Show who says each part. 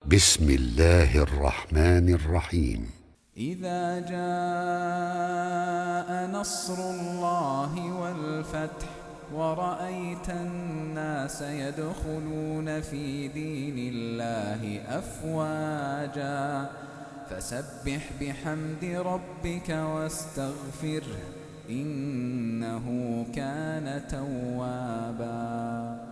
Speaker 1: بسم الله الرحمن الرحيم.
Speaker 2: إذا جاء نصر الله والفتح ورأيت الناس يدخلون في دين الله أفواجا فسبح بحمد ربك واستغفره إنه كان توابا.